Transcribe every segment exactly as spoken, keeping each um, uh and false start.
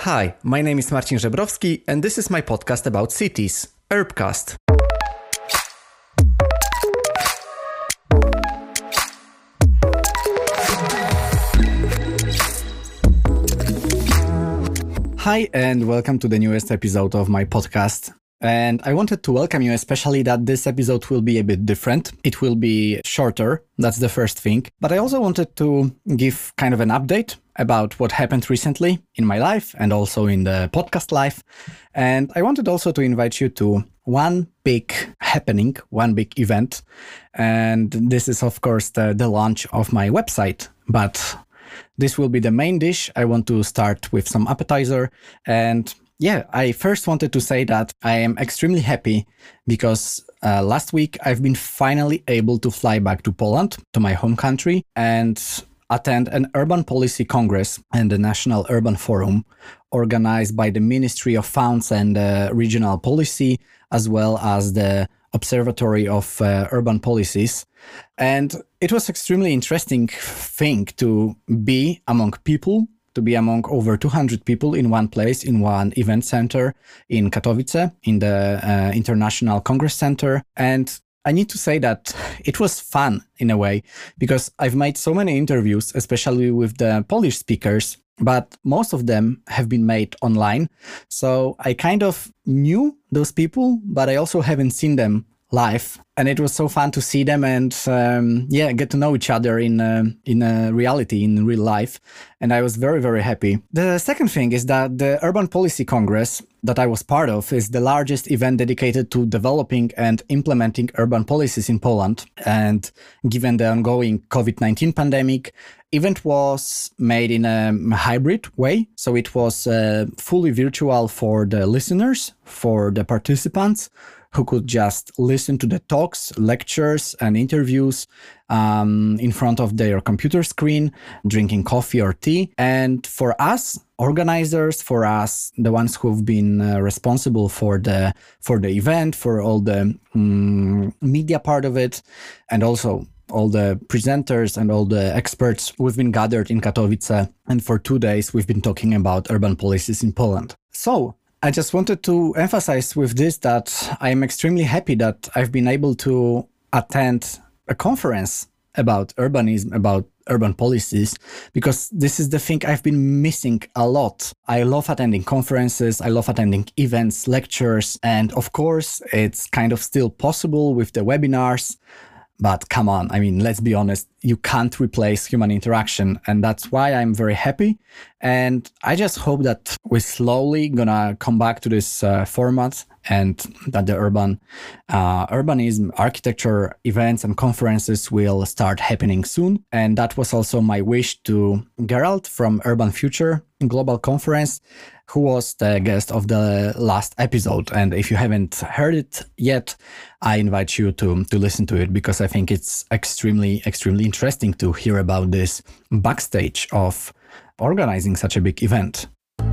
Hi, my name is Marcin Żebrowski and this is my podcast about cities, Urbcast. Hi and welcome to the newest episode of my podcast. And I wanted to welcome you, especially that this episode will be a bit different. It will be shorter, that's the first thing. But I also wanted to give kind of an update about what happened recently in my life and also in the podcast life. And I wanted also to invite you to one big happening, one big event. And this is, of course, the, the launch of my website. But this will be the main dish. I want to start with some appetizer. And yeah, I first wanted to say that I am extremely happy because uh, last week I've been finally able to fly back to Poland, to my home country, and attend an urban policy congress and the National Urban Forum organized by the Ministry of Funds and uh, Regional Policy, as well as the Observatory of uh, Urban Policies. And it was extremely interesting thing to be among people, to be among over two hundred people in one place, in one event center in Katowice, in the uh, International Congress Center. And I need to say that it was fun in a way, because I've made so many interviews, especially with the Polish speakers, but most of them have been made online. So I kind of knew those people, but I also haven't seen them live. And it was so fun to see them and um, yeah, get to know each other in uh, in uh, reality, in real life. And I was very, very happy. The second thing is that the Urban Policy Congress that I was part of is the largest event dedicated to developing and implementing urban policies in Poland. And given the ongoing covid nineteen pandemic, event was made in a hybrid way. So it was uh, fully virtual for the listeners, for the participants, who could just listen to the talks, lectures, and interviews um, in front of their computer screen, drinking coffee or tea. And for us, organizers, for us, the ones who've been uh, responsible for the for the event, for all the um, media part of it, and also all the presenters and all the experts, we've been gathered in Katowice. And for two days, we've been talking about urban policies in Poland. So I just wanted to emphasize with this that I'm extremely happy that I've been able to attend a conference about urbanism, about urban policies, because this is the thing I've been missing a lot. I love attending conferences, I love attending events, lectures, and of course, it's kind of still possible with the webinars. But come on, I mean, let's be honest, you can't replace human interaction. And that's why I'm very happy. And I just hope that we're slowly gonna come back to this uh, format and that the urban uh, urbanism, architecture events and conferences will start happening soon. And that was also my wish to Gerald from Urban Future Global Conference, who was the guest of the last episode. And if you haven't heard it yet, I invite you to, to listen to it, because I think it's extremely, extremely interesting to hear about this backstage of organizing such a big event.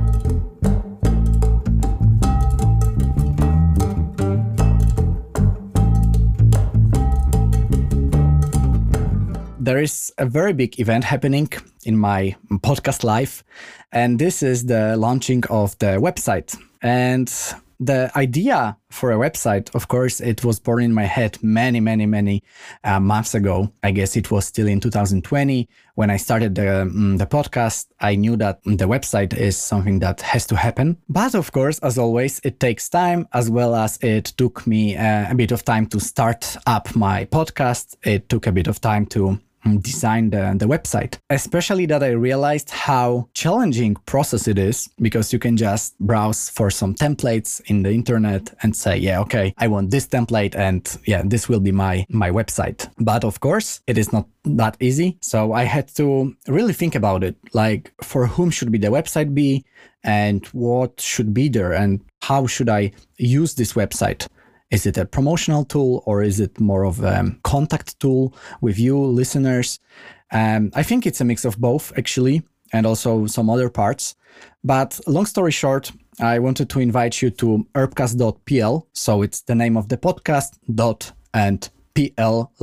There is a very big event happening in my podcast life, and this is the launching of the website. And the idea for a website, of course, it was born in my head many, many, many uh, months ago. I guess it was still in two thousand twenty when I started the, um, the podcast. I knew that the website is something that has to happen. But of course, as always, it takes time, as well as it took me uh, a bit of time to start up my podcast. It took a bit of time to design the, the website, especially that I realized how challenging process it is, because you can just browse for some templates in the internet and say, yeah, okay, I want this template and yeah, this will be my, my website. But of course, it is not that easy. So I had to really think about it, like for whom should be the website be and what should be there and how should I use this website? Is it a promotional tool or is it more of a contact tool with you listeners? Um, I think it's a mix of both, actually, and also some other parts. But long story short, I wanted to invite you to urbcast dot p l. So it's the name of the podcast, dot and P L like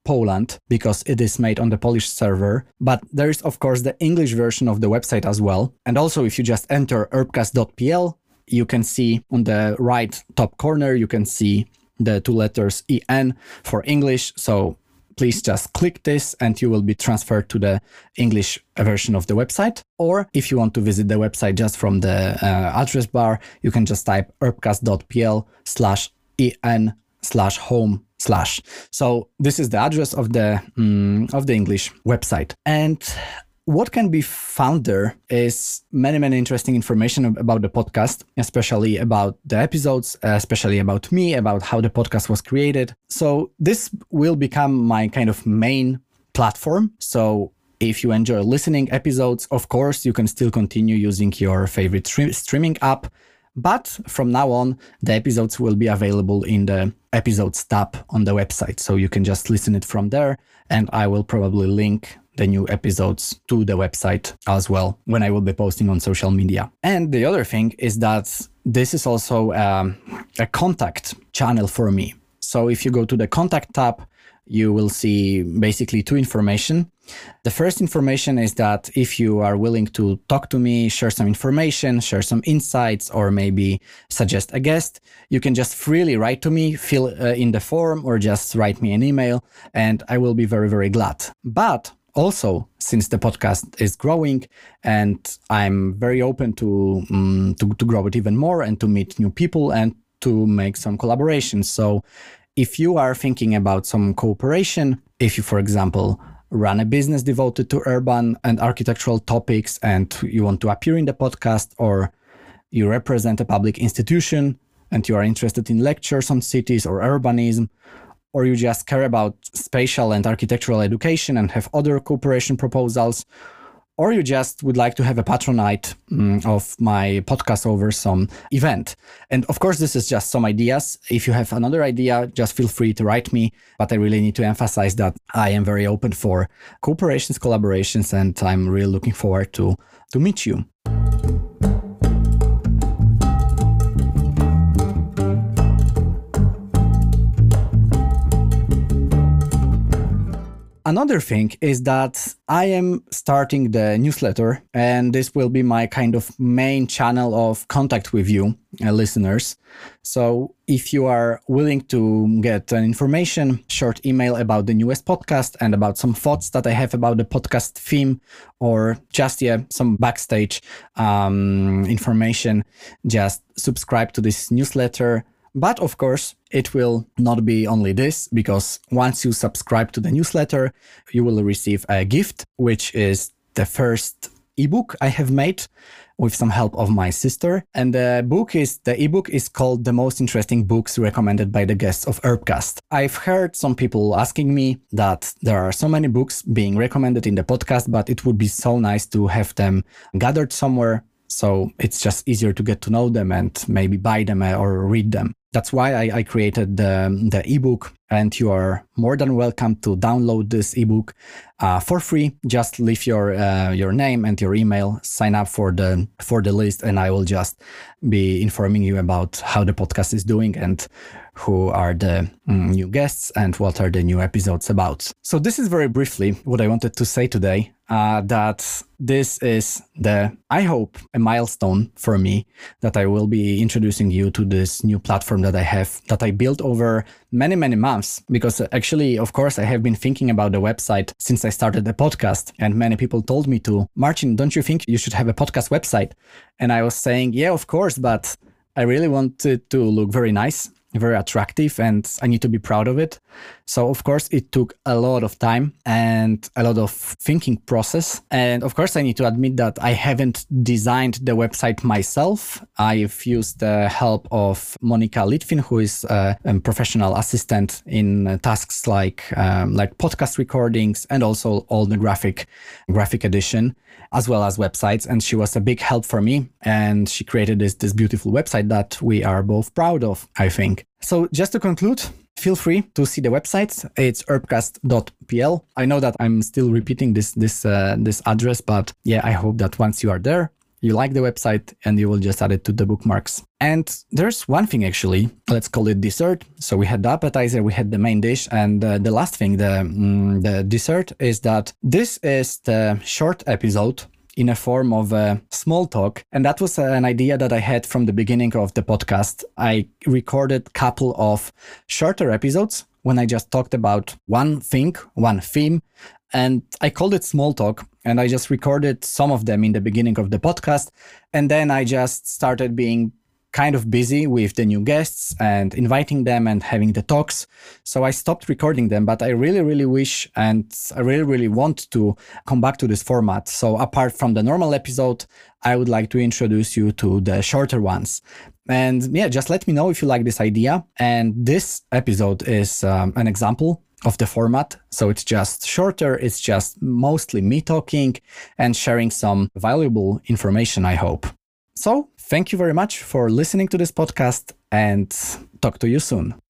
Poland because it is made on the Polish server. But there is, of course, the English version of the website as well. And also, if you just enter herbcast dot p l, you can see on the right top corner, you can see the two letters E N for English. So please just click this and you will be transferred to the English version of the website. Or if you want to visit the website just from the uh, address bar, you can just type herbcast dot p l slash en slash home slash. So this is the address of the um, of the English website. And what can be found there is many, many interesting information about the podcast, especially about the episodes, especially about me, about how the podcast was created. So this will become my kind of main platform. So if you enjoy listening episodes, of course, you can still continue using your favorite stream- streaming app. But from now on, the episodes will be available in the episodes tab on the website. So you can just listen it from there. And I will probably link the new episodes to the website as well when I will be posting on social media. And the other thing is that this is also um, a contact channel for me. So if you go to the contact tab, you will see basically two information. The first information is that if you are willing to talk to me, share some information, share some insights, or maybe suggest a guest, you can just freely write to me, fill uh, in the form, or just write me an email, and I will be very, very glad. But also, since the podcast is growing and I'm very open to, um, to, to grow it even more and to meet new people and to make some collaborations. So if you are thinking about some cooperation, if you, for example, run a business devoted to urban and architectural topics and you want to appear in the podcast, or you represent a public institution and you are interested in lectures on cities or urbanism, or you just care about spatial and architectural education and have other cooperation proposals, or you just would like to have a patronage um, of my podcast over some event. And of course, this is just some ideas. If you have another idea, just feel free to write me. But I really need to emphasize that I am very open for cooperations, collaborations, and I'm really looking forward to, to meet you. Another thing is that I am starting the newsletter, and this will be my kind of main channel of contact with you, uh, listeners. So if you are willing to get an information, short email about the newest podcast and about some thoughts that I have about the podcast theme, or just yeah, some backstage um, information, just subscribe to this newsletter. But of course, it will not be only this, because once you subscribe to the newsletter, you will receive a gift, which is the first ebook I have made with some help of my sister. And the book is, the ebook is called The Most Interesting Books Recommended by the Guests of Herbcast. I've heard some people asking me that there are so many books being recommended in the podcast, but it would be so nice to have them gathered somewhere. So it's just easier to get to know them and maybe buy them or read them. That's why I, I created the, the ebook, and you are more than welcome to download this ebook uh, for free. Just leave your uh, your name and your email, sign up for the for the list, and I will just be informing you about how the podcast is doing and who are the mm, new guests and what are the new episodes about. So this is very briefly what I wanted to say today. Uh, that this is the, I hope, a milestone for me, that I will be introducing you to this new platform that I have, that I built over many, many months. Because actually, of course, I have been thinking about the website since I started the podcast, and many people told me to, Marcin, don't you think you should have a podcast website? And I was saying, yeah, of course, but I really want it to look very nice, very attractive, and I need to be proud of it. So of course it took a lot of time and a lot of thinking process. And of course I need to admit that I haven't designed the website myself. I've used the help of Monika Litvin, who is a, a professional assistant in tasks like um, like podcast recordings and also all the graphic graphic edition, as well as websites. And she was a big help for me. And she created this, this beautiful website that we are both proud of, I think. So just to conclude, feel free to see the website. It's herbcast dot p l. I know that I'm still repeating this this uh, this address, but yeah, I hope that once you are there, you like the website, and you will just add it to the bookmarks. And there's one thing actually, let's call it dessert. So we had the appetizer, we had the main dish, and uh, the last thing, the, mm, the dessert, is that this is the short episode in a form of a small talk. And that was an idea that I had from the beginning of the podcast. I recorded a couple of shorter episodes when I just talked about one thing, one theme, and I called it small talk. And I just recorded some of them in the beginning of the podcast. And then I just started being kind of busy with the new guests and inviting them and having the talks. So I stopped recording them, but I really, really wish and I really, really want to come back to this format. So apart from the normal episode, I would like to introduce you to the shorter ones. And yeah, just let me know if you like this idea. And this episode is um, an example of the format. So it's just shorter. It's just mostly me talking and sharing some valuable information, I hope. So thank you very much for listening to this podcast and talk to you soon.